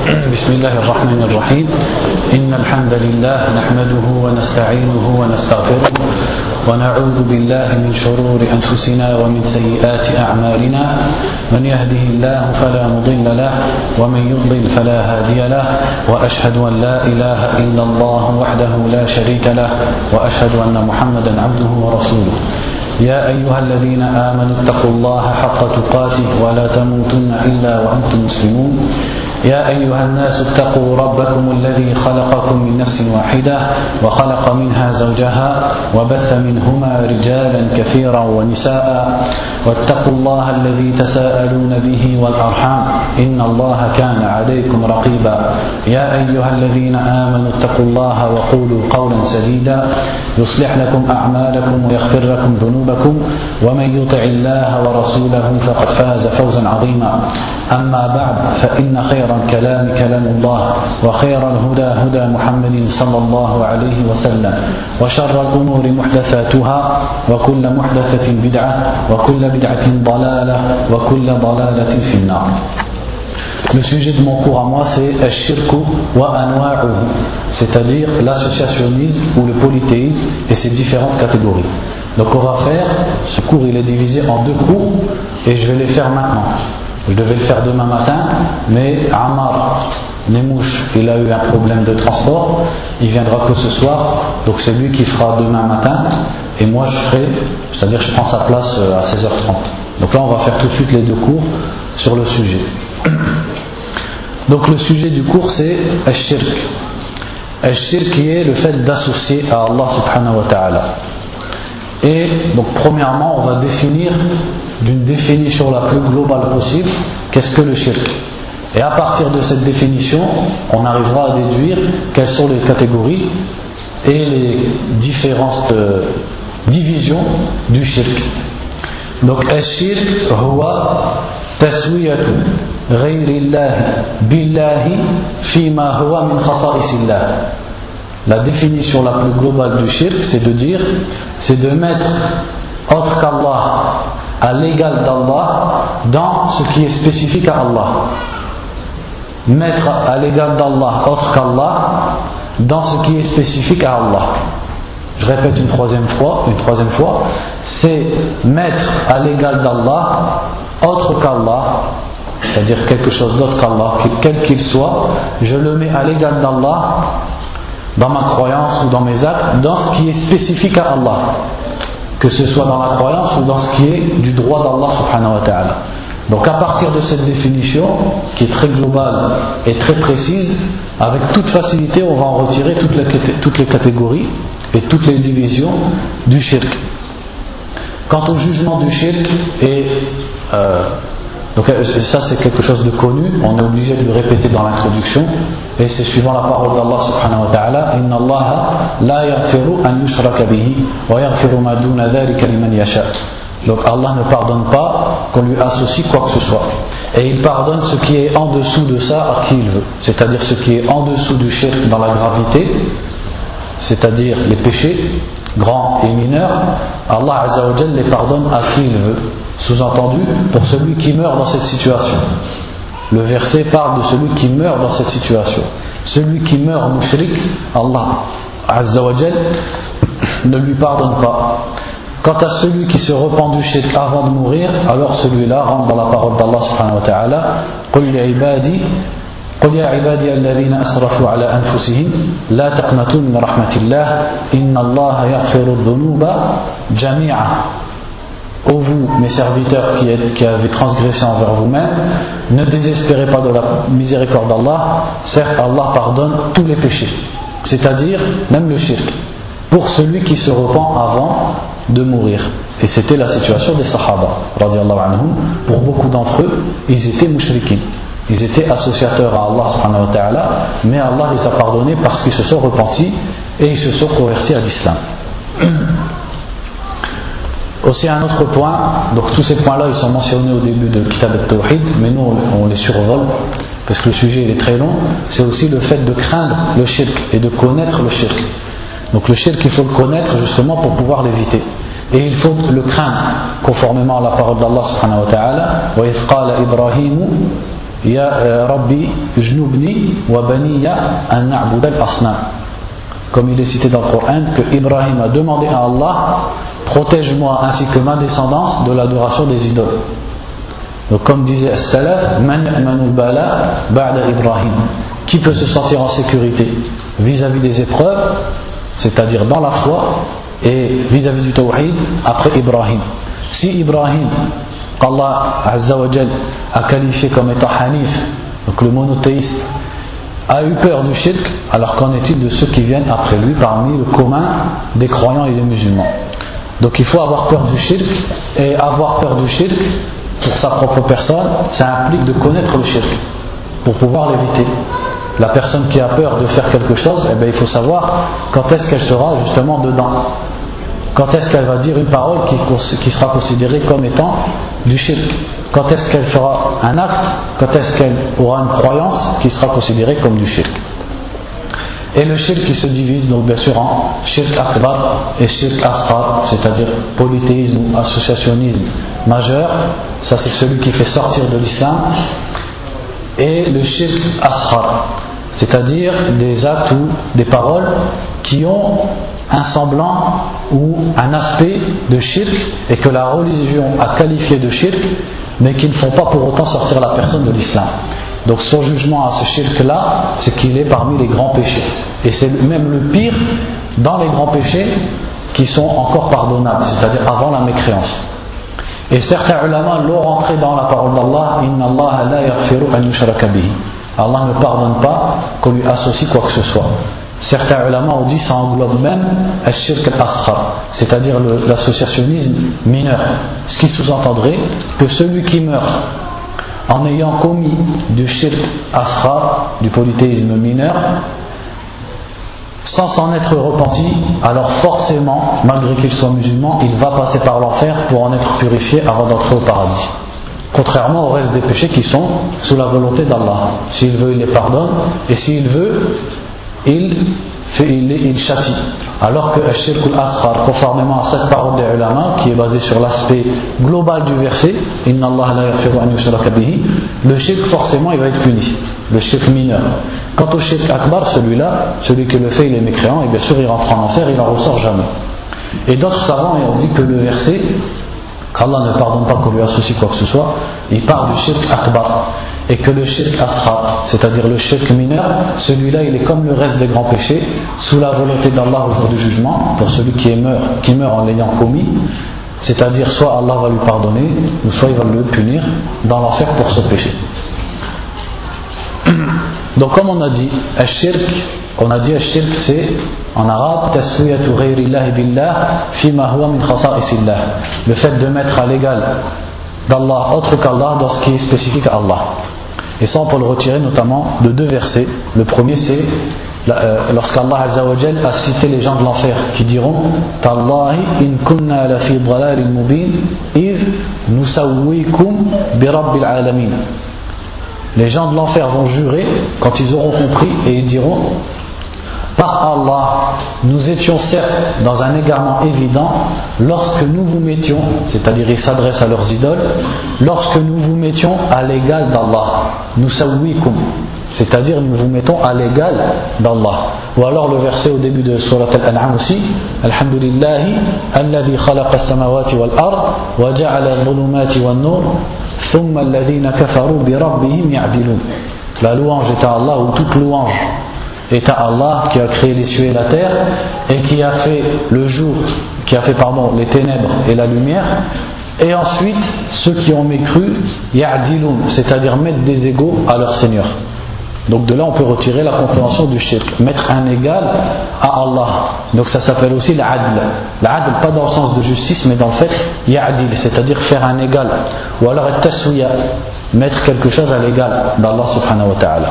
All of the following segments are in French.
بسم الله الرحمن الرحيم إن الحمد لله نحمده ونستعينه ونستغفره ونعوذ بالله من شرور أنفسنا ومن سيئات أعمالنا من يهده الله فلا مضل له ومن يضلل فلا هادي له وأشهد أن لا إله إلا الله وحده لا شريك له وأشهد أن محمدا عبده ورسوله يا أيها الذين آمنوا اتقوا الله حق تقاته ولا تموتن إلا وأنتم مسلمون يا أيها الناس اتقوا ربكم الذي خلقكم من نفس واحدة وخلق منها زوجها وبث منهما رجالا كثيرا ونساء واتقوا الله الذي تساءلون به والأرحام إن الله كان عليكم رقيبا يا أيها الذين آمنوا اتقوا الله وقولوا قولا سديدا يصلح لكم أعمالكم ويغفر لكم ذنوبكم ومن يطع الله ورسوله فقد فاز فوزا عظيما أما بعد فإن خير الكلام كلام الله وخير الهدى هدى محمد صلى الله عليه وسلم وشر الأمور محدثاتها وكل محدثة بدعة وكل بدعة ضلالة وكل ضلالة في النار. Le sujet de mon cours à moi c'est Ash-Shirku wa Anwa'uhu, c'est-à-dire l'associationnisme ou le polythéisme et ses différentes catégories. Donc on va faire, ce cours il est divisé en deux cours et je vais les faire maintenant. Je devais le faire demain matin, mais Ammar Nemouche, il a eu un problème de transport, il viendra que ce soir, donc c'est lui qui fera demain matin, et moi je ferai, c'est-à-dire je prends sa place à 16h30. Donc là on va faire tout de suite les deux cours sur le sujet. Donc le sujet du cours c'est Ash-Shirk. Ash-Shirk qui est le fait d'associer à Allah subhanahu wa ta'ala. Et donc premièrement on va définir d'une définition la plus globale possible qu'est-ce que le shirk. Et à partir de cette définition on arrivera à déduire quelles sont les catégories et les différentes divisions du shirk. Donc al-shirk huwa taswiyatu ghayrillahi billahi fima huwa min khasa'isillah. La définition la plus globale du shirk, c'est de dire, c'est de mettre autre qu'Allah à l'égal d'Allah dans ce qui est spécifique à Allah. Mettre à l'égal d'Allah autre qu'Allah dans ce qui est spécifique à Allah. Je répète une troisième fois, c'est mettre à l'égal d'Allah autre qu'Allah, c'est-à-dire quelque chose d'autre qu'Allah, quel qu'il soit, je le mets à l'égal d'Allah dans ma croyance ou dans mes actes, dans ce qui est spécifique à Allah, que ce soit dans la croyance ou dans ce qui est du droit d'Allah subhanahu wa ta'ala. Donc à partir de cette définition, qui est très globale et très précise, avec toute facilité on va en retirer toutes les catégories et toutes les divisions du shirk. Quant au jugement du shirk, donc ça c'est quelque chose de connu, on est obligé de le répéter dans l'introduction, et c'est suivant la parole d'Allah subhanahu wa ta'ala: Inna Allah la yaghfiru an yushraka bihi wa yaghfiru ma duna dhalika liman yasha. Donc Allah ne pardonne pas qu'on lui associe quoi que ce soit, et il pardonne ce qui est en dessous de ça à qui il veut, c'est-à-dire ce qui est en dessous du shirk dans la gravité, c'est-à-dire les péchés grands et mineurs, Allah azza wa jalla les pardonne à qui il veut. Sous-entendu, pour celui qui meurt dans cette situation. Le verset parle de celui qui meurt dans cette situation. Celui qui meurt mushrik, Allah azza wa jalla ne lui pardonne pas. Quant à celui qui se repent du shirk avant de mourir, alors celui-là rentre dans la parole d'Allah subhanahu wa ta'ala: Qul ya ibadi alladhina asrafu ala anfusihim la taqnatu min rahmatillah inna Allah yaghfiru dhunuba jami'a. Ô vous, mes serviteurs qui avez transgressé envers vous-même, ne désespérez pas de la miséricorde d'Allah. Certes, Allah pardonne tous les péchés, c'est-à-dire même le shirk, pour celui qui se repent avant de mourir. Et c'était la situation des Sahaba, radiyallahu anhum. Pour beaucoup d'entre eux, ils étaient mushrikin, ils étaient associateurs à Allah subhanahu wa ta'ala, mais Allah les a pardonnés parce qu'ils se sont repentis et ils se sont convertis à l'islam. Aussi un autre point, donc tous ces points-là ils sont mentionnés au début de Kitab al-Tawhid, mais nous on les survole parce que le sujet il est très long. C'est aussi le fait de craindre le shirk et de connaître le shirk. Donc le shirk il faut le connaître justement pour pouvoir l'éviter. Et il faut le craindre conformément à la parole d'Allah subhanahu wa ta'ala: Wa idh qala Ibrahimu Ya Rabbi Jnubni wa Baniya an na'bud al-asnam. Comme il est cité dans le Coran, que Ibrahim a demandé à Allah, protège-moi ainsi que ma descendance de l'adoration des idoles. Donc comme disait As-Salaf, Man ya'manul bala ba'da Ibrahim. Qui peut se sentir en sécurité vis-à-vis des épreuves, c'est-à-dire dans la foi et vis-à-vis du tawhid après Ibrahim. Si Ibrahim, qu'Allah Azza wa Jal a qualifié comme étant Hanif, donc le monothéiste, a eu peur du shirk, alors qu'en est-il de ceux qui viennent après lui parmi le commun des croyants et des musulmans? Donc il faut avoir peur du shirk, et avoir peur du shirk pour sa propre personne, ça implique de connaître le shirk pour pouvoir l'éviter. La personne qui a peur de faire quelque chose, eh bien, il faut savoir quand est-ce qu'elle sera justement dedans. Quand est-ce qu'elle va dire une parole qui sera considérée comme étant du shirk? Quand est-ce qu'elle fera un acte? Quand est-ce qu'elle aura une croyance qui sera considérée comme du shirk? Et le shirk qui se divise donc bien sûr en shirk akbar et shirk asghar, c'est-à-dire polythéisme ou associationnisme majeur, ça c'est celui qui fait sortir de l'islam, et le shirk asghar, c'est-à-dire des actes ou des paroles qui ont un semblant ou un aspect de shirk et que la religion a qualifié de shirk, mais qui ne font pas pour autant sortir la personne de l'islam. Donc son jugement à ce shirk-là, c'est qu'il est parmi les grands péchés. Et c'est même le pire dans les grands péchés qui sont encore pardonnables, c'est-à-dire avant la mécréance. Et certains ulama l'ont rentré dans la parole d'Allah, Inna Allah la yaghfiru an yushraka bihi. Allah ne pardonne pas qu'on lui associe quoi que ce soit. Certains ulama ont dit ça englobe même al-shirk al-asghar, c'est-à-dire l'associationnisme mineur. Ce qui sous-entendrait que celui qui meurt en ayant commis du shirk asghar, du polythéisme mineur, sans s'en être repenti, alors forcément, malgré qu'il soit musulman, il va passer par l'enfer pour en être purifié avant d'entrer au paradis. Contrairement au reste des péchés qui sont sous la volonté d'Allah. S'il veut, il les pardonne, et s'il veut, il châtie. Alors que al-shirk al-asghar, conformément à cette parole des ulama, qui est basée sur l'aspect global du verset, Inna Allah la yaghfiru an yushraka bihi, le shirk forcément il va être puni, le shirk mineur. Quant au shirk akbar, celui-là, celui qui le fait il est mécréant, et bien sûr il rentre en enfer, il n'en ressort jamais. Et d'autres savants ont dit que le verset, qu'Allah ne pardonne pas qu'on lui associe quoi que ce soit, il parle du shirk akbar. Et que le shirk asghar, c'est-à-dire le shirk mineur, celui-là il est comme le reste des grands péchés, sous la volonté d'Allah au jour du jugement, pour celui qui meurt en l'ayant commis, c'est-à-dire soit Allah va lui pardonner, ou soit il va le punir dans l'enfer pour ce péché. Donc comme on a dit, al-shirk c'est en arabe taswiyatu ghayrillahi billah fima huwa min khasa'isillah, le fait de mettre à l'égal d'Allah autre qu'Allah dans ce qui est spécifique à Allah. Et ça on peut le retirer notamment de deux versets. Le premier c'est lorsqu'Allah Azza wa Jal a cité les gens de l'enfer qui diront Tallahi in kunna la fi dhalalin mubin idh nusawwikum bi rabbil alamin. Les gens de l'enfer vont jurer quand ils auront compris et ils diront par Allah, nous étions certes dans un égarement évident lorsque nous vous mettions, c'est-à-dire ils s'adressent à leurs idoles, lorsque nous vous mettions à l'égal d'Allah, nous sawwikum, c'est-à-dire nous vous mettons à l'égal d'Allah. Ou alors le verset au début de Surat Al-An'am aussi, Alhamdulillahi alladhi khalaqa as-samawati wal ard wa ja'ala adh-dhulumati wan nur thumma alladhina kafaru bi rabbihim ya'dilun. La louange est à Allah, ou toute louange est à Allah qui a créé les cieux et la terre et qui a fait le jour, les ténèbres et la lumière, et ensuite ceux qui ont mécru ya'dilun, c'est-à-dire mettre des égaux à leur Seigneur. Donc de là on peut retirer la compréhension du shirk, mettre un égal à Allah. Donc ça s'appelle aussi l'adl. L'adl pas dans le sens de justice mais dans le fait ya'dil, c'est-à-dire faire un égal. Ou alors at-taswiya, mettre quelque chose à l'égal d'Allah subhanahu wa ta'ala.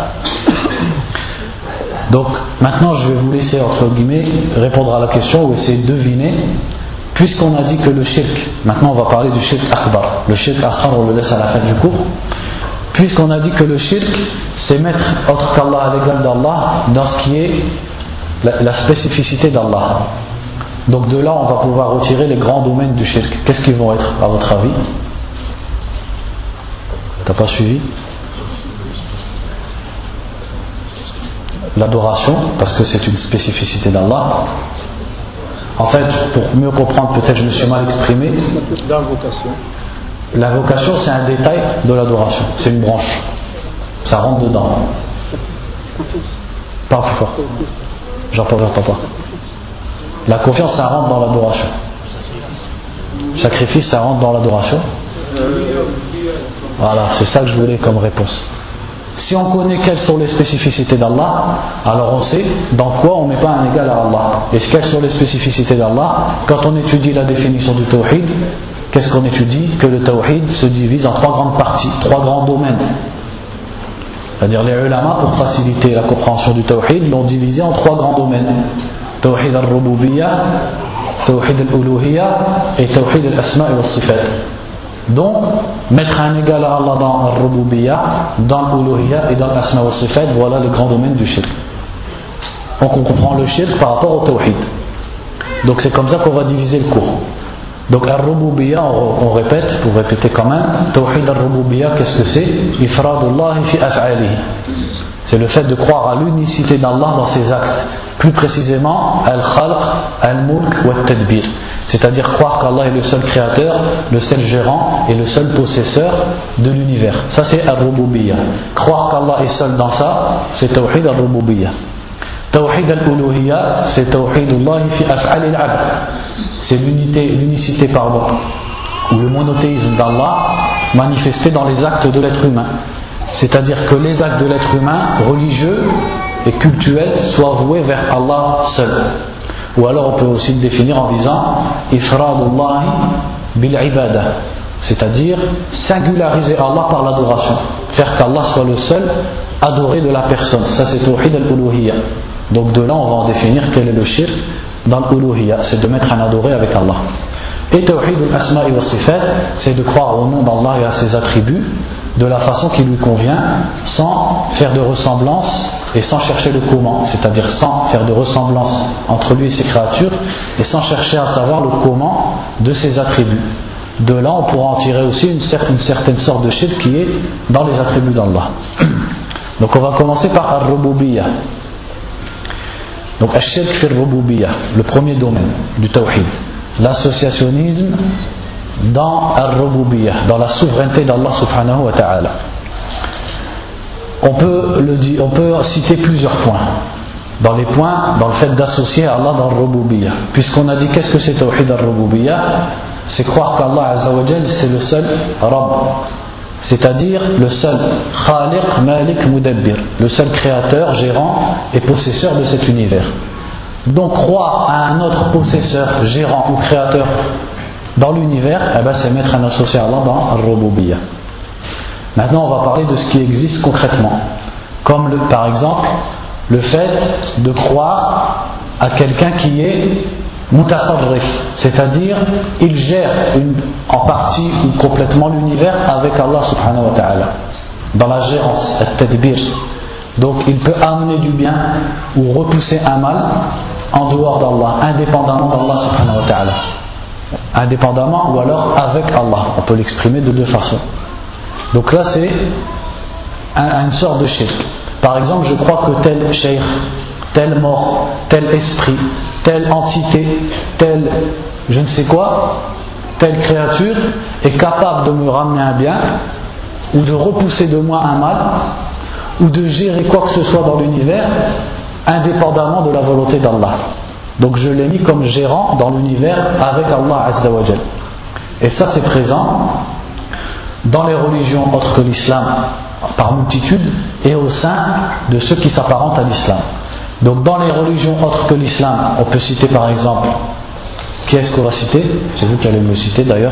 Donc maintenant je vais vous laisser entre guillemets répondre à la question ou essayer de deviner, puisqu'on a dit que le shirk, maintenant on va parler du shirk akbar. Le shirk asghar on le laisse à la fin du cours. Puisqu'on a dit que le shirk c'est mettre autre qu'Allah à l'égal d'Allah dans ce qui est la spécificité d'Allah. Donc de là on va pouvoir retirer les grands domaines du shirk. Qu'est-ce qu'ils vont être à votre avis? T'as pas suivi? l'adoration, parce que c'est une spécificité d'Allah. En fait, pour mieux comprendre, peut-être je me suis mal exprimé. La vocation, c'est un détail de l'adoration, c'est une branche, ça rentre dedans. Parle plus fort. J'entends pas. La confiance, ça rentre dans l'adoration. Sacrifice, ça rentre dans l'adoration. Voilà, c'est ça que je voulais comme réponse. Si on connaît quelles sont les spécificités d'Allah, alors on sait dans quoi on ne met pas un égal à Allah. Et quelles sont les spécificités d'Allah? Quand on étudie la définition du tawhid, qu'est-ce qu'on étudie? Que le tawhid se divise en 3 grandes parties, 3 grands domaines. C'est-à-dire les ulama, pour faciliter la compréhension du tawhid, l'ont divisé en 3 grands domaines. Tawhid al-rububiyyah, tawhid al-uluhiyyah et tawhid al-asma' wa sifat. Donc, mettre un égal à Allah dans al-rububiyyah, dans l'uluhiyyah et dans l'asma' wa sifat, voilà les grands domaines du shirk. Donc on comprend le shirk par rapport au tawhid. Donc c'est comme ça qu'on va diviser le cours. Donc al-rububiyyah, on répète, pour répéter quand même, tawhid al-rububiyyah, qu'est-ce que c'est? Ifradullah fi af'alihi. C'est le fait de croire à l'unicité d'Allah dans ses actes. Plus précisément, al-khalq, al-mulk wa al-tadbir. C'est-à-dire croire qu'Allah est le seul créateur, le seul gérant et le seul possesseur de l'univers. Ça c'est al-rububiyyah. Croire qu'Allah est seul dans ça, c'est tawhid al-rububiyyah. Tawhid al-uluhiyyah, c'est tawhidullah fi af'al al-'abd. C'est l'unicité ou le monothéisme d'Allah manifesté dans les actes de l'être humain. C'est-à-dire que les actes de l'être humain, religieux et cultuels, soient voués vers Allah seul. Ou alors on peut aussi le définir en disant ifradullahi bil ibada, c'est-à-dire singulariser Allah par l'adoration, faire qu'Allah soit le seul adoré de la personne. Ça c'est tawhid al-uluhiyyah. Donc de là on va en définir quel est le shirk dans l'uluhiyyah, c'est de mettre un adoré avec Allah. Et tawhid al-asma' wa sifat, c'est de croire au nom d'Allah et à ses attributs de la façon qui lui convient, sans faire de ressemblance et sans chercher le comment, c'est-à-dire sans faire de ressemblance entre lui et ses créatures et sans chercher à savoir le comment de ses attributs. De là on pourra en tirer aussi une certaine sorte de shirk qui est dans les attributs d'Allah. Donc on va commencer par al-rububiyyah. Donc al-shirk fi al-rububiyyah, le premier domaine du tawhid, l'associationnisme dans al-rububiyyah, dans la souveraineté d'Allah subhanahu wa ta'ala. On peut citer plusieurs points. Dans les points, dans le fait d'associer Allah dans al-rububiyyah. Puisqu'on a dit qu'est-ce que c'est tawhid al-rububiyyah, c'est croire qu'Allah azza wa jal c'est le seul Rabb, c'est-à-dire le seul Khaliq, Malik, Mudabbir, le seul créateur, gérant et possesseur de cet univers. Donc croire à un autre possesseur, gérant ou créateur dans l'univers, c'est mettre un associé à Allah dans al-rububiyyah. Maintenant on va parler de ce qui existe concrètement, comme par exemple le fait de croire à quelqu'un qui est mutasarrif, c'est-à-dire il gère en partie ou complètement l'univers avec Allah subhanahu wa ta'ala, dans la gérance, al-tadbir. Donc il peut amener du bien ou repousser un mal en dehors d'Allah, indépendamment d'Allah subhanahu wa ta'ala. Indépendamment ou alors avec Allah, on peut l'exprimer de 2 façons. Donc là c'est une sorte de shirk. Par exemple, je crois que tel cheikh, tel mort, tel esprit, telle entité, tel je ne sais quoi, telle créature est capable de me ramener un bien ou de repousser de moi un mal ou de gérer quoi que ce soit dans l'univers indépendamment de la volonté d'Allah. Donc je l'ai mis comme gérant dans l'univers avec Allah azza wa jal. Et ça c'est présent dans les religions autres que l'islam par multitude et au sein de ceux qui s'apparentent à l'islam. Donc dans les religions autres que l'islam, on peut citer par exemple, qui est-ce qu'on va citer? C'est vous qui allez me citer d'ailleurs.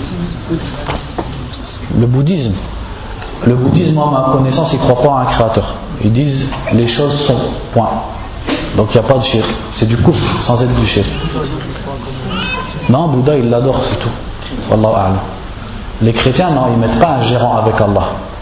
Le bouddhisme. Le bouddhisme, à ma connaissance, ils ne croient pas à un créateur. Ils disent les choses sont, point. Donc il n'y a pas de shirk. C'est du kufr sans être du shirk. Non, Bouddha il l'adore, c'est tout. Wallahu a'lam. Les chrétiens, non, ils ne mettent pas un gérant avec Allah.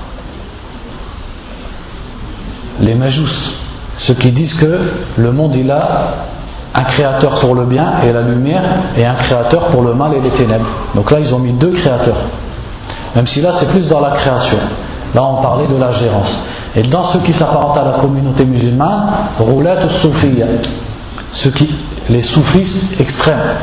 Les majous, ceux qui disent que le monde il a un créateur pour le bien et la lumière et un créateur pour le mal et les ténèbres. Donc là ils ont mis 2 créateurs. Même si là c'est plus dans la création. Là on parlait de la gérance. Et dans ce qui s'apparente à la communauté musulmane, roulat soufiyya, les soufistes extrêmes.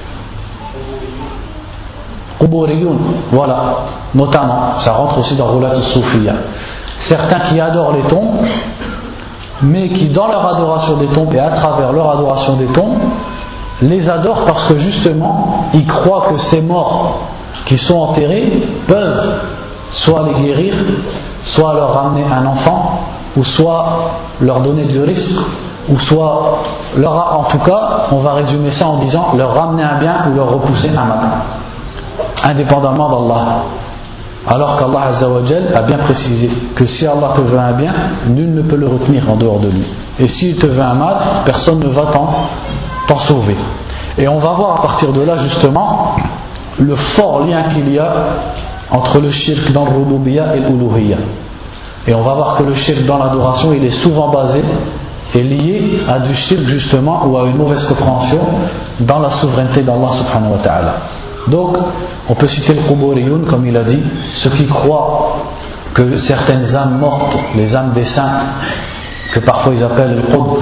Quburiyun, voilà, notamment, ça rentre aussi dans roulat soufiyya. Certains qui adorent les tombes, mais qui dans leur adoration des tombes et à travers leur adoration des tombes, les adorent parce que justement, ils croient que ces morts qui sont enterrés peuvent soit les guérir, soit leur ramener un enfant, ou soit leur donner du risque, ou soit en tout cas, on va résumer ça en disant leur ramener un bien ou leur repousser un mal, indépendamment d'Allah. Alors qu'Allah Azza wa Jal a bien précisé que si Allah te veut un bien, nul ne peut le retenir en dehors de lui. Et s'il te veut un mal, personne ne va t'en sauver. Et on va voir à partir de là justement le fort lien qu'il y a entre le shirk dans le rububiyya et l'uluhiyya. Et on va voir que le shirk dans l'adoration, il est souvent basé et lié à du shirk justement ou à une mauvaise compréhension dans la souveraineté d'Allah subhanahu wa ta'ala. Donc, on peut citer le Quburiyun, comme il a dit, ceux qui croient que certaines âmes mortes, les âmes des saints, que parfois ils appellent le Qutb,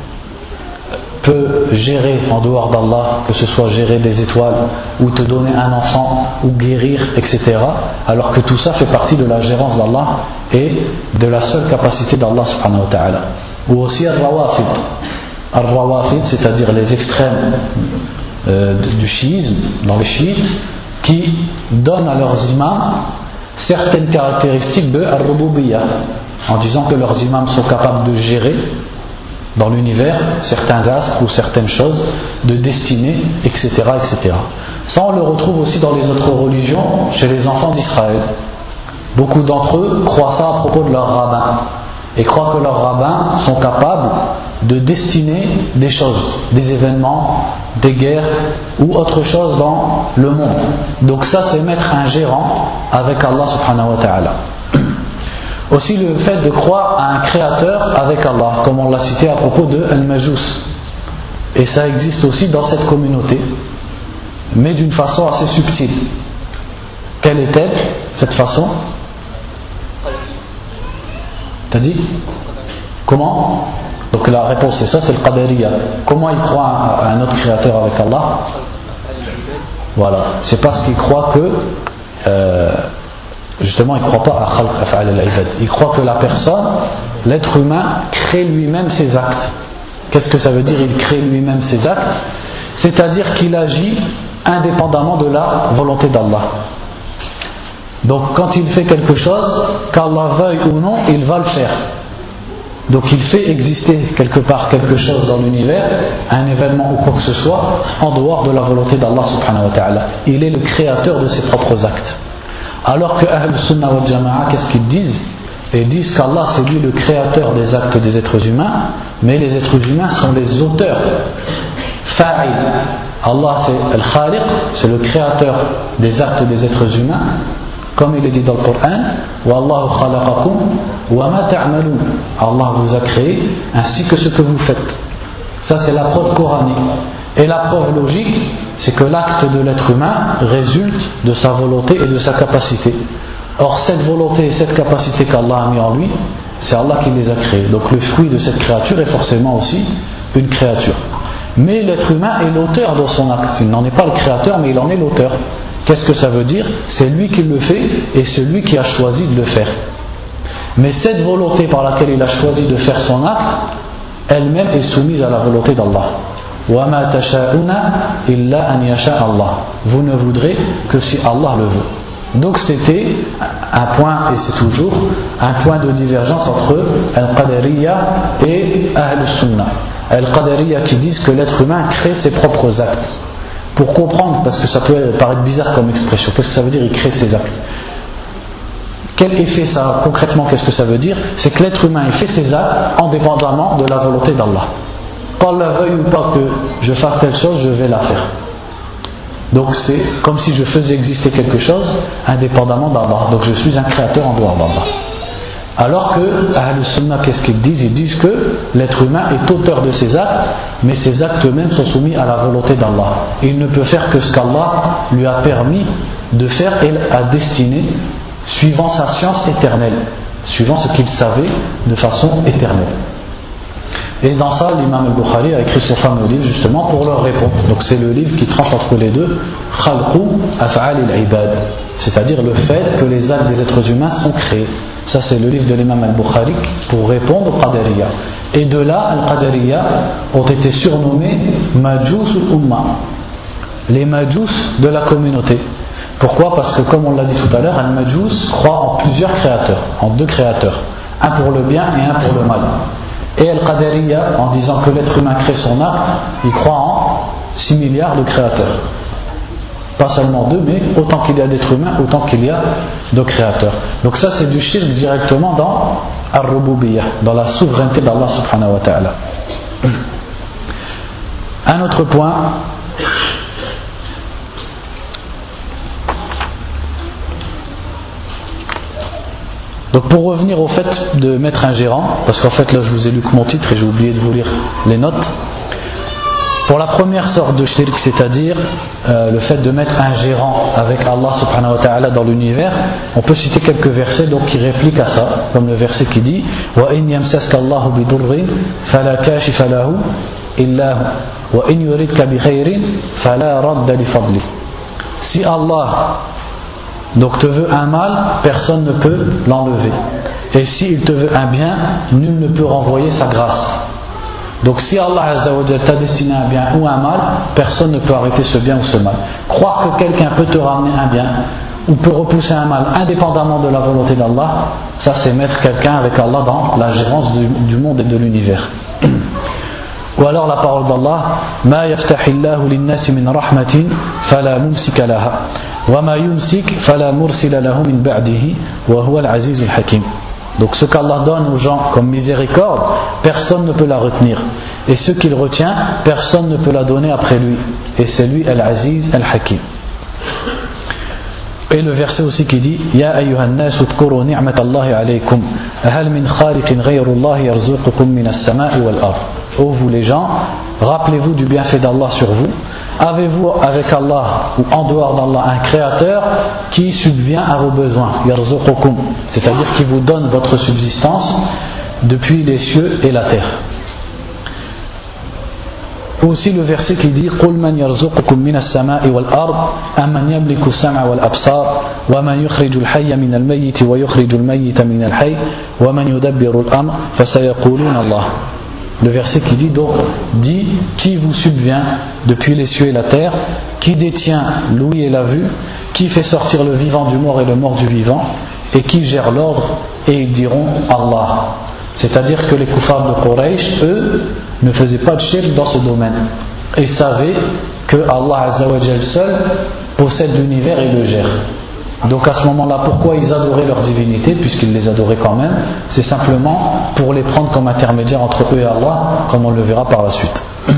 peut gérer en dehors d'Allah, que ce soit gérer des étoiles, ou te donner un enfant, ou guérir, etc. Alors que tout ça fait partie de la gérance d'Allah et de la seule capacité d'Allah subhanahu wa ta'ala. Ou aussi Al-Rawafid. Al-Rawafid, c'est-à-dire les extrêmes du chiisme, dans les chiites, qui donnent à leurs imams certaines caractéristiques de Ar-Rububiyya, en disant que leurs imams sont capables de gérer dans l'univers certains astres ou certaines choses, de destinée, etc., etc. Ça, on le retrouve aussi dans les autres religions, chez les enfants d'Israël. Beaucoup d'entre eux croient ça à propos de leurs rabbins, et croient que leurs rabbins sont capables de destiner des choses, des événements, des guerres ou autre chose dans le monde. Donc ça, c'est mettre un gérant avec Allah subhanahu wa ta'ala. Aussi le fait de croire à un créateur avec Allah, comme on l'a cité à propos de Al-Majus. Et ça existe aussi dans cette communauté, mais d'une façon assez subtile. Quelle est-elle, cette façon? T'as dit? Comment? Donc la réponse c'est ça, c'est le Qadariyya. Comment il croit à un autre créateur avec Allah? Voilà, c'est parce qu'il croit que justement il ne croit pas à Khalq Af'al al-Ibad. Il croit que la personne, l'être humain, crée lui-même ses actes. Qu'est-ce que ça veut dire? Il crée lui-même ses actes, c'est-à-dire qu'il agit indépendamment de la volonté d'Allah. Donc quand il fait quelque chose, qu'Allah veuille ou non, il va le faire. Donc il fait exister quelque part quelque chose dans l'univers, un événement ou quoi que ce soit, en dehors de la volonté d'Allah subhanahu wa ta'ala. Il est le créateur de ses propres actes. Alors que Ahl Sunnah wal Jama'a, qu'est-ce qu'ils disent? Ils disent qu'Allah c'est lui le créateur des actes des êtres humains, mais les êtres humains sont les auteurs. Fa'il. Allah c'est Al-Khaliq, c'est le créateur des actes des êtres humains. Comme il est dit dans le Coran, Wallahu khalaqakum wa ma ta'malun. Allah vous a créé ainsi que ce que vous faites. Ça c'est la preuve coranique. Et la preuve logique, c'est que l'acte de l'être humain résulte de sa volonté et de sa capacité. Or cette volonté et cette capacité qu'Allah a mis en lui, c'est Allah qui les a créés. Donc le fruit de cette créature est forcément aussi une créature. Mais l'être humain est l'auteur de son acte. Il n'en est pas le créateur, mais il en est l'auteur. Qu'est-ce que ça veut dire? C'est lui qui le fait et c'est lui qui a choisi de le faire. Mais cette volonté par laquelle il a choisi de faire son acte, elle-même est soumise à la volonté d'Allah. وَمَا تَشَاءُونَ إِلَّا أَنْ يَشَاءَ اللَّهُ. Vous ne voudrez que si Allah le veut. Donc c'était un point, et c'est toujours un point de divergence entre Al-Qadariyya et Ahl Sunnah. Al-Qadariyya qui disent que l'être humain crée ses propres actes. Pour comprendre, parce que ça peut paraître bizarre comme expression, qu'est-ce que ça veut dire, il crée ses actes? Quel effet ça, concrètement, qu'est-ce que ça veut dire? C'est que l'être humain il fait ses actes indépendamment de la volonté d'Allah. Qu'Allah veuille ou pas que je fasse telle chose, je vais la faire. Donc c'est comme si je faisais exister quelque chose indépendamment d'Allah. Donc je suis un créateur en dehors d'Allah. Alors que Ahl Sunnah, qu'est-ce qu'ils disent? Ils disent que l'être humain est auteur de ses actes, mais ses actes eux-mêmes sont soumis à la volonté d'Allah. Il ne peut faire que ce qu'Allah lui a permis de faire et a destiné, suivant sa science éternelle. suivant ce qu'ils savaient de façon éternelle. Et dans ça, l'imam al-Bukhari a écrit ce fameux livre justement pour leur répondre. Donc c'est le livre qui tranche entre les deux, Khalqu Af'al al-Ibad, c'est-à-dire le fait que les actes des êtres humains sont créés. Ça c'est le livre de l'imam al-Bukhari pour répondre au Qadariyya. Et de là, al-Qadariyya ont été surnommés Majous al-Umma, les Majous de la communauté. Pourquoi ? Parce que comme on l'a dit tout à l'heure, al-Majous croit en plusieurs créateurs, en deux créateurs, un pour le bien et un pour le mal. Et Al-Qadariyya, en disant que l'être humain crée son acte, il croit en 6 milliards de créateurs. Pas seulement deux, mais autant qu'il y a d'êtres humains, autant qu'il y a de créateurs. Donc ça c'est du shirk directement dans Ar-Rububiyyah, dans la souveraineté d'Allah subhanahu wa ta'ala. Un autre point, donc pour revenir au fait de mettre un gérant, parce qu'en fait là je vous ai lu que mon titre et j'ai oublié de vous lire les notes. Pour la première sorte de shirk, c'est-à-dire le fait de mettre un gérant avec Allah subhanahu wa ta'ala dans l'univers, on peut citer quelques versets donc, qui répliquent à ça, comme le verset qui dit وَإِنْ يَمْسَسْكَ اللَّهُ بِضُرٍّ فَلَا كَاشِفَ لَهُ إِلَّا هُوَ وَإِنْ يُرِدْكَ بِخَيْرٍ فَلَا رَدَّ لِفَضْلِهِ. Si Allah donc te veut un mal, personne ne peut l'enlever. Et s'il te veut un bien, nul ne peut renvoyer sa grâce. Donc si Allah Azza wa Jalla t'a destiné un bien ou un mal, personne ne peut arrêter ce bien ou ce mal. Croire que quelqu'un peut te ramener un bien ou peut repousser un mal indépendamment de la volonté d'Allah, ça c'est mettre quelqu'un avec Allah dans la gérance du monde et de l'univers. Ou alors la parole d'Allah Ma yaftahillahu linnasi min rahmatin fala mumsika laha wa ma yumsik fala mursila lahu min ba'dihi wa huwa al-azizul hakim. Donc ce qu'Allah donne aux gens comme miséricorde, personne ne peut la retenir. Et ce qu'il retient, personne ne peut la donner après lui. Et c'est lui Al-Aziz Al-Hakim. Et le verset aussi qui dit Ya ayyuhan nas udhkuru ni'matallahi alaykum hal min khaliqin ghayrullahi yarzuqukum minas sama'i wal ard. Ô vous les gens, rappelez-vous du bienfait d'Allah sur vous. Avez-vous avec Allah ou en dehors d'Allah un créateur qui subvient à vos besoins, yarzuqukum, c'est-à-dire qui vous donne votre subsistance depuis les cieux et la terre. Aussi le verset qui dit قُلْ مَنْ يَرْزُقُكُمْ مِنَ السَّمَاءِ وَالْأَرْضِ أَمَّنْ يَمْلِكُ السَّمْعَ وَالْأَبْصَارَ وَمَنْ يُخْرِجُ الْحَيَّ مِنَ الْمَيِّتِ وَيُخْرِجُ الْمَيِّتَ مِنَ الْحَيِّ وَمَنْ يُدَبِّرُ الْأَمْرَ فَسَيَقُولُونَ اللَّهُ. Le verset qui dit donc, dit qui vous subvient depuis les cieux et la terre, qui détient l'ouïe et la vue, qui fait sortir le vivant du mort et le mort du vivant, et qui gère l'ordre, et ils diront Allah. C'est-à-dire que les koufars de Quraysh, eux, ne faisaient pas de shirk dans ce domaine, et savaient que Allah Azza wa Jal seul possède l'univers et le gère. Donc à ce moment-là, pourquoi ils adoraient leur divinité, puisqu'ils les adoraient quand même, c'est simplement pour les prendre comme intermédiaires entre eux et Allah, comme on le verra par la suite.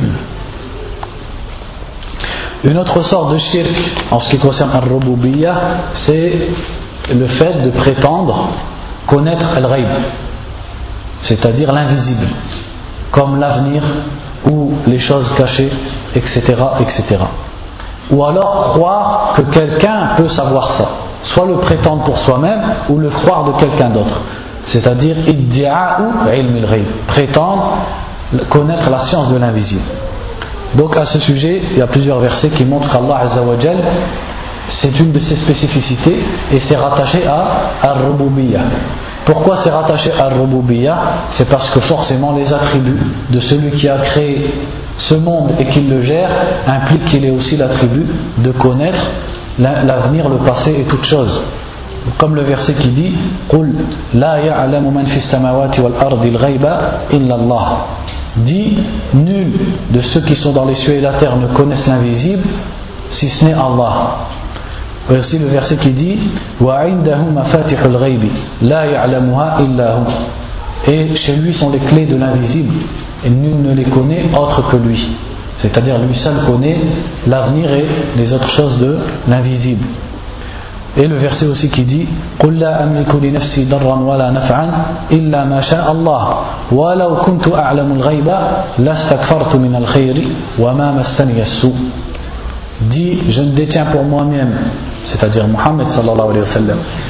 Une autre sorte de shirk en ce qui concerne Ar-Rububiyyah, c'est le fait de prétendre connaître Al-Ghaib, c'est-à-dire l'invisible, comme l'avenir ou les choses cachées, etc., etc. Ou alors croire que quelqu'un peut savoir ça, soit le prétendre pour soi-même ou le croire de quelqu'un d'autre, c'est-à-dire iddia'u ilm al-ghaib, prétendre connaître la science de l'invisible. Donc à ce sujet, il y a plusieurs versets qui montrent qu'Allah Azza wa Jal, c'est une de ses spécificités et c'est rattaché à Ar-Rububiyyah. Pourquoi c'est rattaché à Ar-Rububiyyah ? C'est parce que forcément les attributs de celui qui a créé ce monde et qui le gère impliquent qu'il ait aussi l'attribut de connaître l'avenir, le passé et toutes choses. Comme le verset qui dit قُلْ لَا يَعْلَمُ مَنْ فِي السَّمَاوَاتِ وَالْأَرْضِ الْغَيْبَ إِلَّا اللَّهُ. Dit, nul de ceux qui sont dans les cieux et la terre ne connaissent l'invisible si ce n'est Allah. Et aussi le verset qui dit وَعِنْدَهُ مَفَاتِحُ الْغَيْبِ لَا يَعْلَمُهَا إِلَّا هُ. Et chez lui sont les clés de l'invisible et nul ne les connaît autre que lui. C'est-à-dire lui seul connaît l'avenir et les autres choses de l'invisible. Et le verset aussi qui dit قُلْ لَا أَمْلِكُ لِنَفْسِي ضَرًّا وَلَا نَفْعًا إِلَّا مَا شَاءَ اللَّهُ وَلَوْ كُنْتُ أَعْلَمُ الْغَيْبَ لَاسْتَكْثَرْتُ مِنَ الْخَيْرِ وَمَا مَسَّنِيَ السُّوءُ. Dit, je ne détiens pour moi-même, c'est-à-dire Muhammad sallallahu alayhi wa sallam,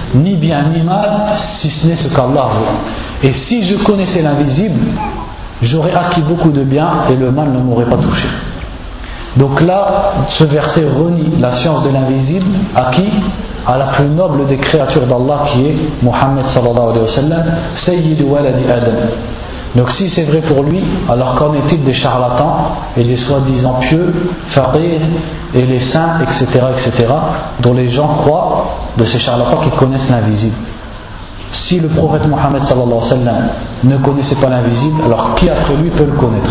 ni bien ni mal, si ce n'est ce qu'Allah veut. Et si je connaissais l'invisible, j'aurais acquis beaucoup de bien et le mal ne m'aurait pas touché. Donc là, ce verset renie la science de l'invisible à qui? À la plus noble des créatures d'Allah qui est Muhammad sallallahu alayhi wa sallam, Sayyidu waladi Adam. Donc si c'est vrai pour lui, alors qu'en est-il des charlatans et des soi-disant pieux, faqih et les saints, etc., etc., dont les gens croient, de ces charlatans qui connaissent l'invisible. Si le prophète Muhammad sallallahu alayhi wa sallam ne connaissait pas l'invisible, alors qui après lui peut le connaître?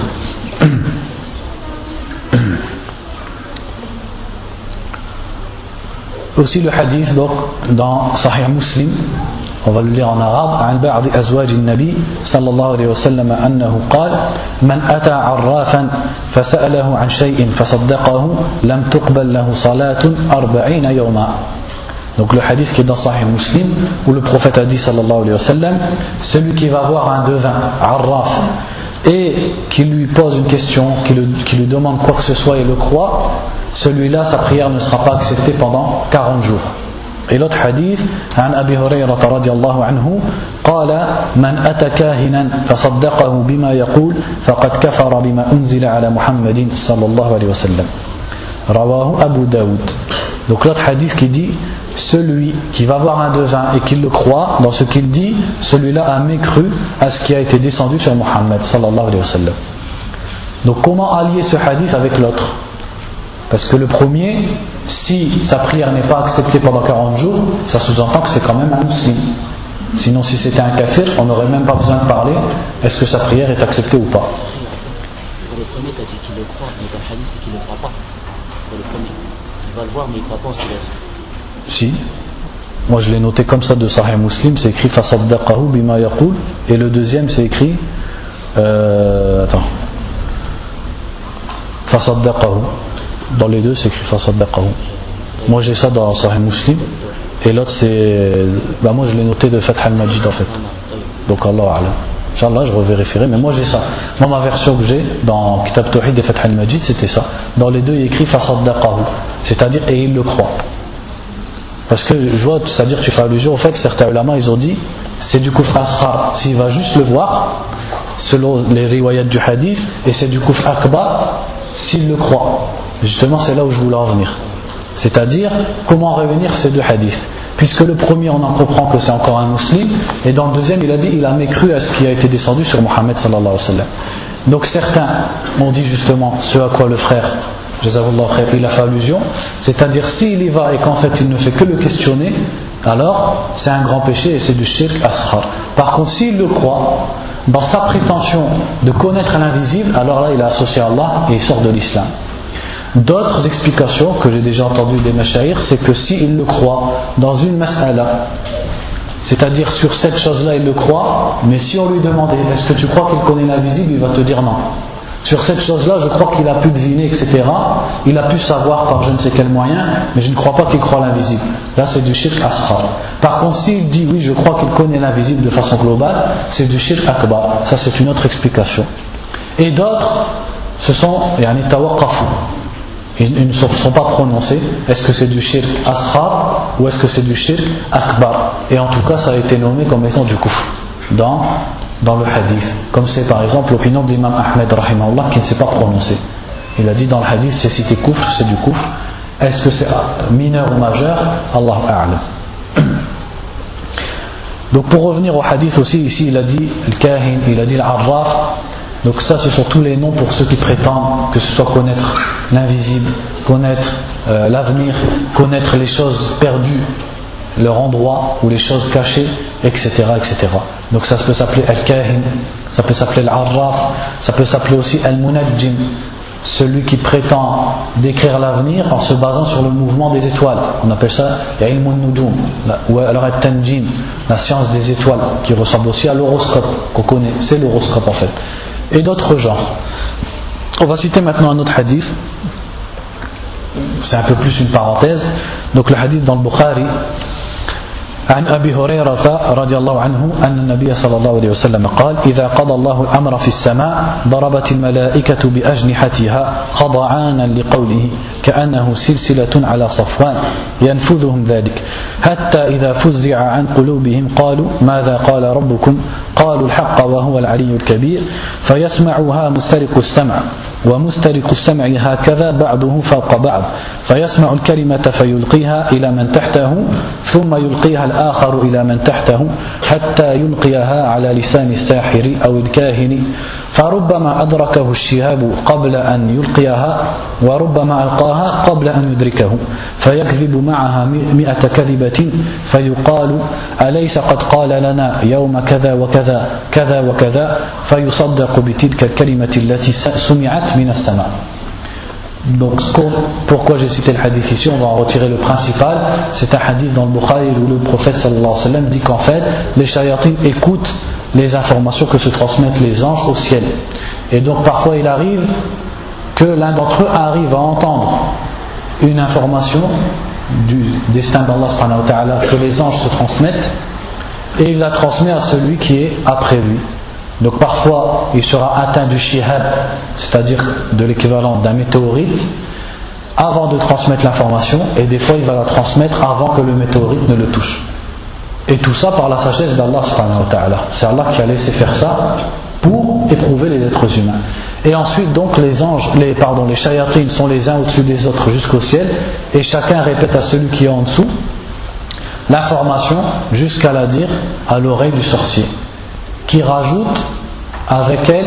Aussi le hadith donc dans Sahih Muslim, on va le lire en arabe. عن بعض أزواج النبي صلى الله عليه وسلم أنه قال من أتى عرافا فسأله عن شيء فصدقه لم تقبل له صلاة 40 يوما. Donc le hadith qui est dans Sahih Muslim, où le prophète a dit sallallahu alayhi wa sallam, celui qui va voir un devin, arraf, et qui lui pose une question, qui lui demande quoi que ce soit et le croit, celui-là sa prière ne sera pas acceptée pendant 40 jours. Et l'autre hadith, عن أبي هريرة رضي الله عنه قال من أتى كاهنا فصدقه بما يقول فقد كفر بما أنزل على محمد صلى الله عليه وسلم. رواه Abu Daoud. Donc l'autre hadith qui dit, celui qui va voir un devin et qui le croit dans ce qu'il dit, celui-là a mécru à ce qui a été descendu sur Muhammad sallallahu alayhi wa sallam. Donc comment allier ce hadith avec l'autre? Parce que le premier, si sa prière n'est pas acceptée pendant 40 jours, ça sous-entend que c'est quand même un musulman. Sinon si c'était un kafir, on n'aurait même pas besoin de parler est-ce que sa prière est acceptée ou pas. Pour le premier, tu as dit qu'il le croit, mais dans le hadith, c'est qu'il ne le croit pas. Pour le premier, il va le voir, mais il ne croit pas en ce qu'il a dit. Si. Moi je l'ai noté comme ça de Sahih Muslim, c'est écrit fasaddaqahu bima yaqul, et le deuxième c'est écrit fasaddaqahu. Dans les deux c'est écrit fasaddaqahu. Moi j'ai ça dans Sahih Muslim, et l'autre c'est moi je l'ai noté de Fath al-Majid en fait. Donc Allah a'lam. Inch'Allah je revérifierai, mais moi j'ai ça. Moi ma version que j'ai dans Kitab Tawhid et Fath al-Majid c'était ça. Dans les deux il y a écrit fasaddaqahu, c'est-à-dire et il le croit. Parce que je vois, c'est-à-dire que tu fais allusion au fait que certains ulama ils ont dit c'est du kufr asghar s'il va juste le voir selon les riwayat du hadith, et c'est du kufr akbar s'il le croit. Justement c'est là où je voulais en venir, c'est-à-dire comment réunir ces deux hadiths, puisque le premier on en comprend que c'est encore un musulman, et dans le deuxième il a dit il a mécru à ce qui a été descendu sur Muhammad sallallahu alayhi wa sallam. Donc certains ont dit justement ce à quoi le frère il a fait allusion, c'est-à-dire s'il y va et qu'en fait il ne fait que le questionner, alors c'est un grand péché et c'est du shirk asghar. Par contre s'il le croit dans sa prétention de connaître l'invisible, alors là il a associé Allah et il sort de l'islam. D'autres explications que j'ai déjà entendues des mashayikh, c'est que s'il le croit dans une mas'ala, c'est-à-dire sur cette chose-là il le croit, mais si on lui demandait est-ce que tu crois qu'il connaît l'invisible, il va te dire non. Sur cette chose-là, je crois qu'il a pu deviner, etc. Il a pu savoir par je ne sais quel moyen, mais je ne crois pas qu'il croit l'invisible. Là, c'est du shirk asghar. Par contre, s'il dit oui, je crois qu'il connaît l'invisible de façon globale, c'est du shirk akbar. Ça, c'est une autre explication. Et d'autres, ce sont tawaqqafu. Ils ne sont pas prononcés. Est-ce que c'est du shirk asghar ou est-ce que c'est du shirk akbar? Et en tout cas, ça a été nommé comme étant du kufr dans le hadith, comme c'est par exemple l'opinion de l'imam Ahmed rahimahullah qui ne s'est pas prononcé. Il a dit dans le hadith c'est cité kufr, c'est du kufr. Est-ce que c'est mineur ou majeur? Allahu a'lam. Donc pour revenir au hadith aussi, ici il a dit le kahin, il a dit l'arraf. Donc ça ce sont tous les noms pour ceux qui prétendent que ce soit connaître l'invisible, connaître l'avenir, connaître les choses perdues, leur endroit ou les choses cachées, etc., etc. Donc ça peut s'appeler al-kahin, ça peut s'appeler al-arraf, ça peut s'appeler aussi al-munajjim, celui qui prétend décrire l'avenir en se basant sur le mouvement des étoiles. On appelle ça ilm al-nujum, ou alors al-tanjim, la science des étoiles, qui ressemble aussi à l'horoscope qu'on connaît, c'est l'horoscope en fait. Et d'autres genres. On va citer maintenant un autre hadith. C'est un peu plus une parenthèse. Donc le hadith dans le Bukhari. عن أبي هريرة رضي الله عنه أن النبي صلى الله عليه وسلم قال إذا قضى الله الأمر في السماء ضربت الملائكة بأجنحتها خضعانا لقوله كأنه سلسلة على صفوان ينفذهم ذلك حتى إذا فزع عن قلوبهم قالوا ماذا قال ربكم قالوا الحق وهو العلي الكبير فيسمعها مسترق السمع ومسترق السمع هكذا بعضه فوق بعض فيسمع الكلمة فيلقيها إلى من تحته ثم يلقيها الآخر إلى من تحته حتى يلقيها على لسان الساحر أو الكاهن فربما أدركه الشهاب قبل أن يلقيها وربما ألقاها قبل أن يدركه فيكذب معها 100 كذبة فيقال أليس قد قال لنا يوم كذا وكذا كذا وكذا فيصدق بتلك الكلمة التي سمعت من السماء. Donc pourquoi j'ai cité le hadith ici, on va en retirer le principal. C'est un hadith dans le Bukhari où le prophète sallallahu alayhi wa sallam dit qu'en fait les shayatines écoutent les informations que se transmettent les anges au ciel. Et donc parfois il arrive que l'un d'entre eux arrive à entendre une information du destin d'Allah subhanahu wa ta'ala que les anges se transmettent et il la transmet à celui qui est après lui. Donc parfois il sera atteint du shihab, c'est-à-dire de l'équivalent d'un météorite, avant de transmettre l'information, et des fois il va la transmettre avant que le météorite ne le touche. Et tout ça par la sagesse d'Allah subhanahu wa ta'ala. C'est Allah qui a laissé faire ça pour éprouver les êtres humains. Et ensuite donc les anges, les shayatines sont les uns au-dessus des autres jusqu'au ciel, et chacun répète à celui qui est en dessous l'information jusqu'à la dire à l'oreille du sorcier, qui rajoute avec elle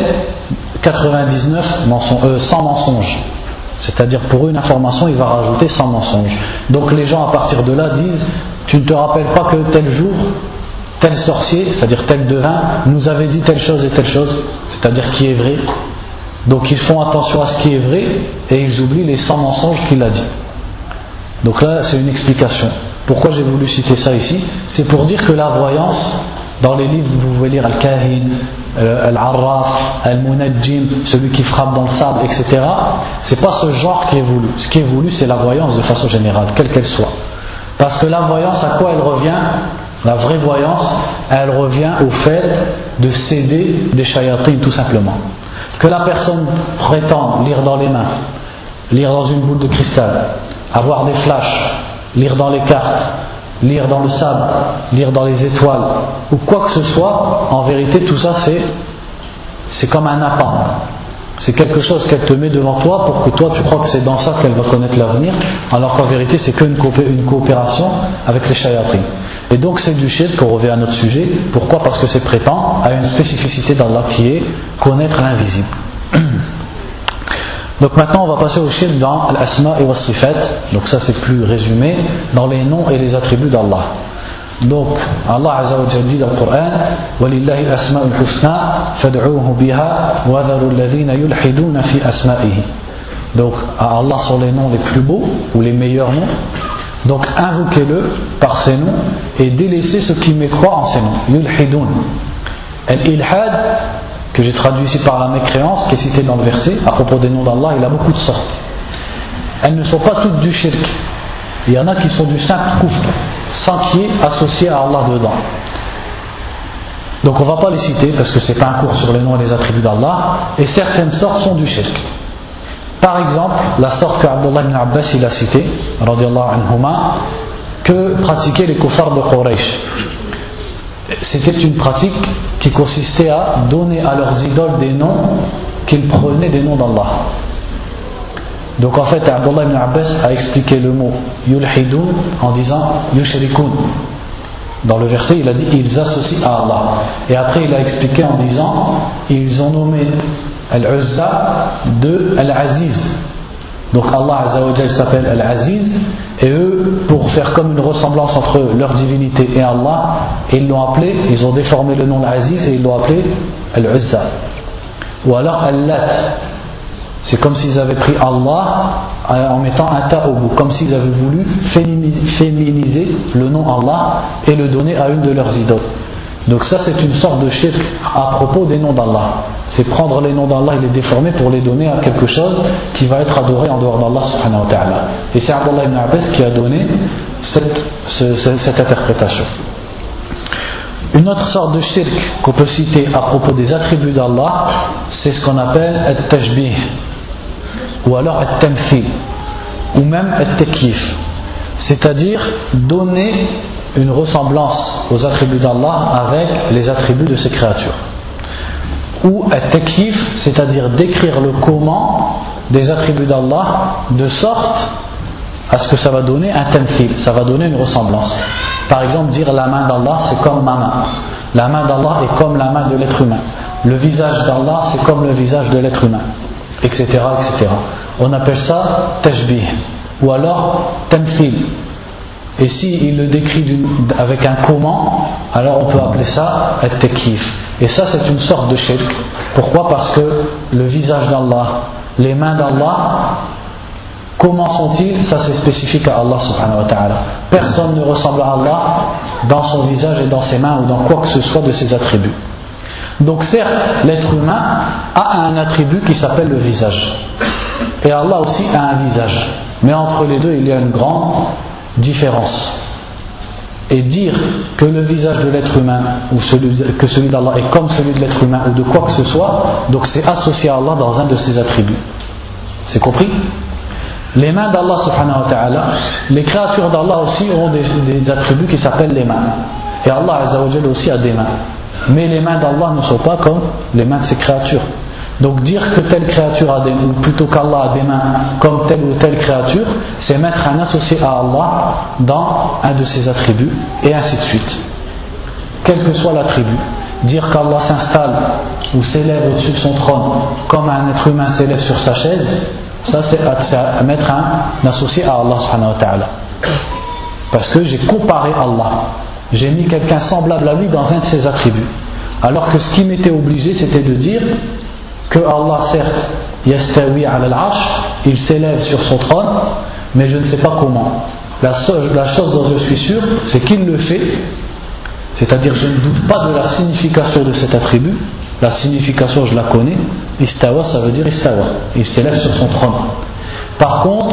100 mensonges. C'est-à-dire pour une information, il va rajouter 100 mensonges. Donc les gens à partir de là disent, tu ne te rappelles pas que tel jour, tel sorcier, c'est-à-dire tel devin, nous avait dit telle chose et telle chose, c'est-à-dire qui est vrai. Donc ils font attention à ce qui est vrai et ils oublient les 100 mensonges qu'il a dit. Donc là c'est une explication. Pourquoi j'ai voulu citer ça ici? C'est pour dire que la voyance, dans les livres vous pouvez lire Al-Kahin, Al-Arraf, Al-Munajjim, celui qui frappe dans le sable, etc. C'est pas ce genre qui est voulu. Ce qui est voulu c'est la voyance de façon générale, quelle qu'elle soit. Parce que la voyance, à quoi elle revient? La vraie voyance, elle revient au fait de céder des shayatines tout simplement. Que la personne prétend lire dans les mains, lire dans une boule de cristal, avoir des flashs, lire dans les cartes, lire dans le sable, lire dans les étoiles, ou quoi que ce soit, en vérité tout ça c'est comme un appât. C'est quelque chose qu'elle te met devant toi pour que toi tu crois que c'est dans ça qu'elle va connaître l'avenir, alors qu'en vérité c'est qu'une coopération avec les shayatines. Et donc c'est du shirk, on revient à notre sujet. Pourquoi? Parce que c'est prétend à une spécificité d'Allah qui est connaître l'invisible. Donc maintenant on va passer au shirk dans l'asma et was-sifat. Donc ça c'est plus résumé, dans les noms et les attributs d'Allah. Donc Allah Azza wa Jalla dit dans le Coran وَلِلَّهِ الْأَسْمَاءُ الْحُسْنَى فَادْعُوهُ بِهَا وَذَرُوا الَّذِينَ يُلْحِدُونَ فِي أَسْمَائِهِ. Donc à Allah sont les noms les plus beaux ou les meilleurs noms. Donc invoquez-le par ces noms et délaissez ceux qui mécroient en ces noms. Yulhidun. Al-ilhad, que j'ai traduit ici par la mécréance, qui est citée dans le verset à propos des noms d'Allah, il a beaucoup de sortes. Elles ne sont pas toutes du shirk. Il y en a qui sont du simple kufr, sans qu'il y ait associé à Allah dedans. Donc on ne va pas les citer parce que ce n'est pas un cours sur les noms et les attributs d'Allah, et certaines sortes sont du shirk. Par exemple, la sorte qu'Abdullah ibn Abbas il a citée, radiyallahu anhuma, que pratiquaient les kuffars de Quraysh. C'était une pratique qui consistait à donner à leurs idoles des noms qu'ils prenaient des noms d'Allah. Donc en fait, Abdullah ibn Abbas a expliqué le mot yulhidun en disant yushrikun. Dans le verset, il a dit ils associent à Allah. Et après, il a expliqué en disant ils ont nommé Al-Uzza de Al-Aziz. Donc Allah Azza wa Jalla s'appelle Al-Aziz, et eux, pour faire comme une ressemblance entre leur divinité et Allah, ils l'ont appelé, ils ont déformé le nom Al-Aziz et ils l'ont appelé Al-Uzza. Ou alors Al-Lat. C'est comme s'ils avaient pris Allah en mettant un ta au bout, comme s'ils avaient voulu féminiser le nom Allah et le donner à une de leurs idoles. Donc ça c'est une sorte de shirk à propos des noms d'Allah. C'est prendre les noms d'Allah et les déformer pour les donner à quelque chose qui va être adoré en dehors d'Allah subhanahu wa ta'ala. Et c'est Abdullah ibn Abbas qui a donné cette interprétation. Une autre sorte de shirk qu'on peut citer à propos des attributs d'Allah, c'est ce qu'on appelle al-tashbih ou alors al-tamthil. ou même at-takyif, c'est-à-dire donner une ressemblance aux attributs d'Allah avec les attributs de ses créatures. Ou at-takyif, c'est-à-dire décrire le comment des attributs d'Allah de sorte à ce que ça va donner un tamthil, ça va donner une ressemblance. Par exemple, dire la main d'Allah c'est comme ma main, la main d'Allah est comme la main de l'être humain, le visage d'Allah c'est comme le visage de l'être humain, etc., etc. On appelle ça tashbih ou alors tamthil. Et s'il le décrit avec un comment, alors on peut appeler ça at-takyif. Et ça c'est une sorte de shirk. Pourquoi? Parce que le visage d'Allah, les mains d'Allah, comment sont-ils? Ça c'est spécifique à Allah subhanahu wa ta'ala. Personne ne ressemble à Allah dans son visage et dans ses mains ou dans quoi que ce soit de ses attributs. Donc certes, l'être humain a un attribut qui s'appelle le visage. Et Allah aussi a un visage. Mais entre les deux, il y a une grande différence. Et dire que le visage de l'être humain ou que celui d'Allah est comme celui de l'être humain ou de quoi que ce soit, donc c'est associé à Allah dans un de ses attributs. C'est compris? Les mains d'Allah subhanahu wa ta'ala, les créatures d'Allah aussi ont des attributs qui s'appellent les mains. Et Allah azza wa jalla aussi a des mains. Mais les mains d'Allah ne sont pas comme les mains de ses créatures. Donc dire que telle créature a des mains, ou plutôt qu'Allah a des mains comme telle ou telle créature, c'est mettre un associé à Allah dans un de ses attributs, et ainsi de suite. Quel que soit l'attribut. Dire qu'Allah s'installe ou s'élève au-dessus de son trône comme un être humain s'élève sur sa chaise, ça c'est à mettre un associé à Allah subhanahu wa ta'ala. Parce que j'ai comparé Allah. J'ai mis quelqu'un semblable à lui dans un de ses attributs. Alors que ce qui m'était obligé, c'était de dire que Allah, certes, yastawi ala al-arsh, il s'élève sur son trône, mais je ne sais pas comment. La chose dont je suis sûr, c'est qu'il le fait, c'est-à-dire je ne doute pas de la signification de cet attribut. La signification, je la connais. Istawa, ça veut dire istawa, il s'élève sur son trône. Par contre,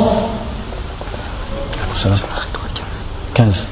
15.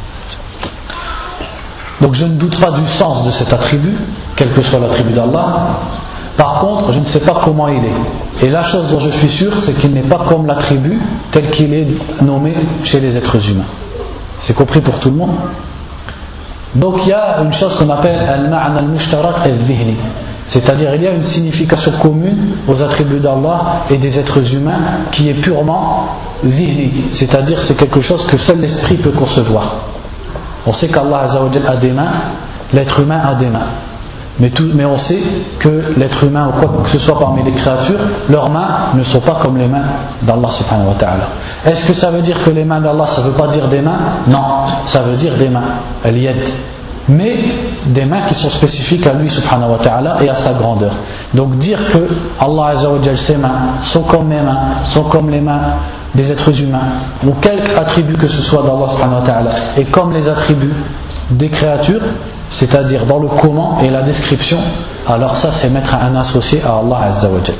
Donc je ne doute pas du sens de cet attribut, quel que soit l'attribut d'Allah. Par contre, je ne sais pas comment il est. Et la chose dont je suis sûr, c'est qu'il n'est pas comme l'attribut tel qu'il est nommé chez les êtres humains. C'est compris pour tout le monde? Donc il y a une chose qu'on appelle al-ma'na al-mushtarak al-dhihni. C'est-à-dire il y a une signification commune aux attributs d'Allah et des êtres humains qui est purement dhihni. C'est-à-dire c'est quelque chose que seul l'esprit peut concevoir. On sait qu'Allah azza wa jalla a des mains, l'être humain a des mains. Mais on sait que l'être humain ou quoi que ce soit parmi les créatures, leurs mains ne sont pas comme les mains d'Allah subhanahu wa ta'ala. Est-ce que ça veut dire que les mains d'Allah, ça ne veut pas dire des mains? Non, ça veut dire des mains, al-yad. Mais des mains qui sont spécifiques à lui subhanahu wa ta'ala et à sa grandeur. Donc dire que Allah azza wa jalla, ses mains sont comme mes mains, sont comme les mains des êtres humains, ou quelque attribut que ce soit d'Allah subhanahu wa ta'ala, et comme les attributs des créatures, c'est-à-dire dans le comment et la description, alors ça c'est mettre un associé à Allah azza wa jalla.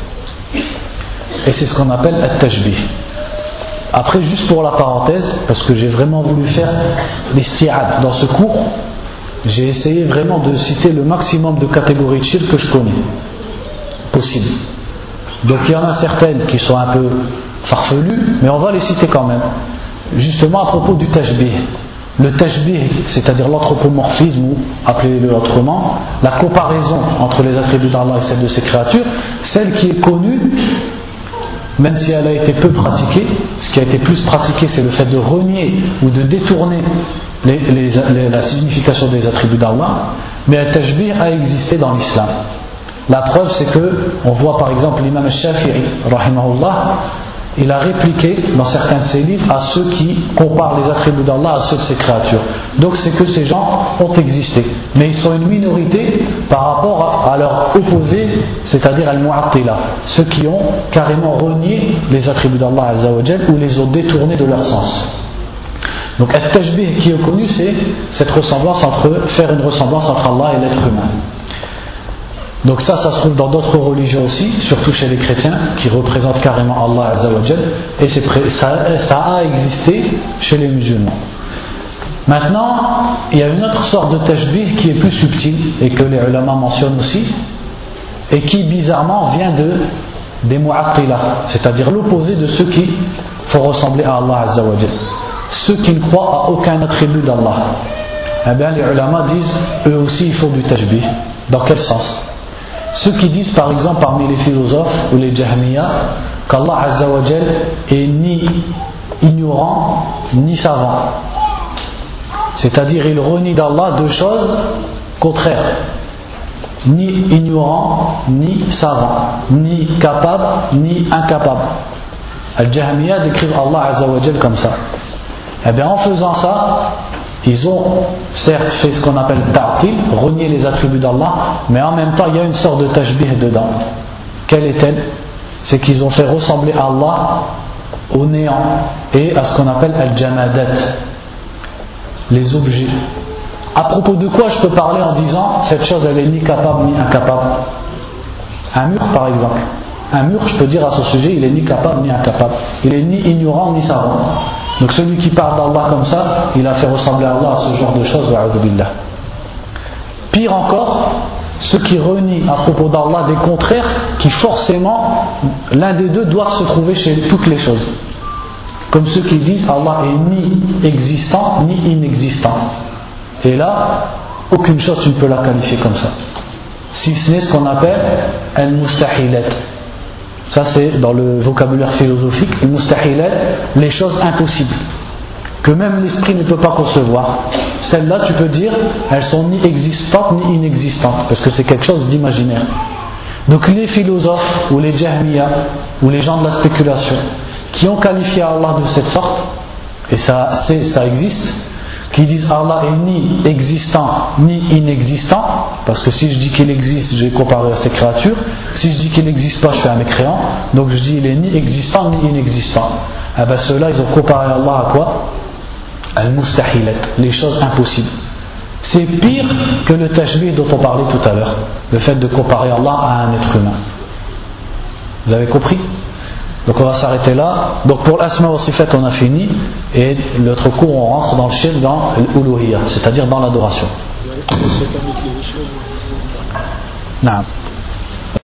Et c'est ce qu'on appelle at-tashbih. Après, juste pour la parenthèse, parce que j'ai vraiment voulu faire l'isti'ad dans ce cours, j'ai essayé vraiment de citer le maximum de catégories de shirk que je connais possible. Donc il y en a certaines qui sont un peu farfelues, mais on va les citer quand même. Justement à propos du tashbih. Le tashbih, c'est-à-dire l'anthropomorphisme, ou appelez-le autrement, la comparaison entre les attributs d'Allah et celles de ses créatures, celle qui est connue, même si elle a été peu pratiquée, ce qui a été plus pratiqué, c'est le fait de renier ou de détourner la signification des attributs d'Allah, mais le tashbih a existé dans l'islam. La preuve, c'est que on voit par exemple l'imam al-Shafi'i, rahimahullah, il a répliqué dans certains de ses livres à ceux qui comparent les attributs d'Allah à ceux de ses créatures. Donc c'est que ces gens ont existé, mais ils sont une minorité par rapport à leur opposé, c'est-à-dire al-mu'attila, ceux qui ont carrément renié les attributs d'Allah azza wa jalla ou les ont détournés de leur sens. Donc at-tashbih qui est connu, c'est cette ressemblance faire une ressemblance entre Allah et l'être humain. Donc ça se trouve dans d'autres religions aussi, surtout chez les chrétiens, qui représentent carrément Allah azza wa jalla, et ça a existé chez les musulmans. Maintenant, il y a une autre sorte de tashbih qui est plus subtile, et que les ulama mentionnent aussi, et qui bizarrement vient des mu'attila, c'est-à-dire l'opposé de ceux qui faut ressembler à Allah Azza wa Jal. Ceux qui ne croient à aucun attribut d'Allah, eh bien les ulama disent eux aussi il faut du tashbih. Dans quel sens? Ceux qui disent par exemple parmi les philosophes ou les jahmiya qu'Allah Azza wa Jal est ni ignorant ni savant, c'est-à-dire il renie d'Allah deux choses contraires, ni ignorant ni savant, ni capable ni incapable. Al-Jahmiya décrivent Allah Azza wa Jal comme ça. Eh bien en faisant ça, ils ont certes fait ce qu'on appelle ta'til, renier les attributs d'Allah, mais en même temps il y a une sorte de tashbih dedans. Quelle est-elle? C'est qu'ils ont fait ressembler à Allah au néant et à ce qu'on appelle al-jamadat, les objets. À propos de quoi je peux parler en disant cette chose elle est ni capable ni incapable? Un mur par exemple. Un mur, je peux dire à ce sujet, il est ni capable ni incapable. Il est ni ignorant ni savant. Donc celui qui parle d'Allah comme ça, il a fait ressembler à Allah à ce genre de choses. Pire encore, ceux qui renient à propos d'Allah des contraires, qui forcément, l'un des deux doit se trouver chez toutes les choses. Comme ceux qui disent Allah est ni existant ni inexistant. Et là, aucune chose tu ne peux la qualifier comme ça. Si ce n'est ce qu'on appelle al-mustahilat. Ça c'est dans le vocabulaire philosophique, al-mustahilat, les choses impossibles, que même l'esprit ne peut pas concevoir. Celles-là, tu peux dire, elles sont ni existantes ni inexistantes, parce que c'est quelque chose d'imaginaire. Donc les philosophes, ou les jahmiya, ou les gens de la spéculation, qui ont qualifié Allah de cette sorte, et ça existe, qui disent Allah est ni existant ni inexistant, parce que si je dis qu'il existe, je vais comparer à ces créatures. Si je dis qu'il n'existe pas, je suis un mécréant. Donc je dis il est ni existant ni inexistant. Eh bien ceux-là, ils ont comparé Allah à quoi? Al-mustahilat, les choses impossibles. C'est pire que le tashbih dont on parlait tout à l'heure, le fait de comparer Allah à un être humain. Vous avez compris? Donc on va s'arrêter là. Donc pour l'asma wa sifat on a fini, et l'autre cours on rentre dans le shirk, dans l'uluhiyya, c'est-à-dire dans l'adoration. Naam.